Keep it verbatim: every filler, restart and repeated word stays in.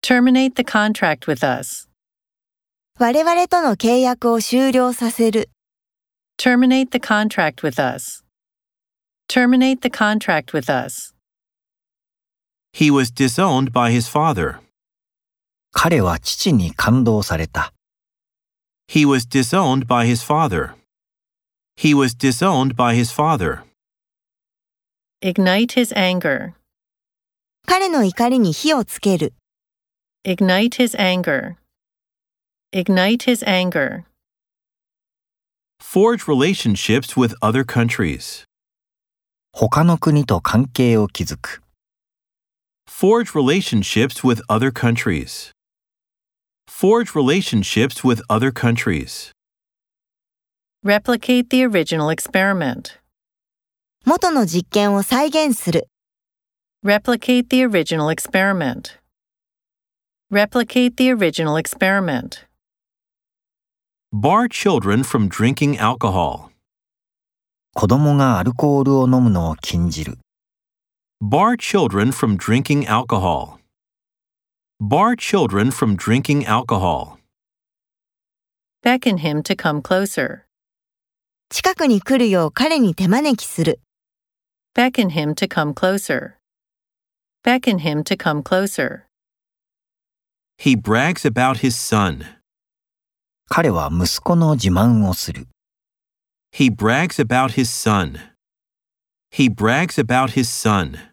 Terminate the contract with us. 我々との契約を終了させる。 Terminate the contract with us. Terminate the contract with us. He was disowned by his father. 彼は父に感動された。 He was disowned by his father. He was disowned by his father. Ignite his anger. 彼の怒りに火をつける。 Ignite his anger. Ignite his anger. Forge relationships with other countries. 他の国と関係を築く。 Forge relationships with other countries. Forge relationships with other countries. Replicate the original experiment. 元の実験を再現する。 Replicate the original experiment. Replicate the original experiment. Bar children from drinking alcohol. 子供がアルコールを飲むのを禁じる。 Bar children from drinking alcohol. Bar children from drinking alcohol. Beckon him to come closer. 近くに来るよう彼に手招きする。 Beckon him to come closer. Beckon him to come closer. He brags about his son. 彼は息子の自慢をする。 He brags about his son. He brags about his son.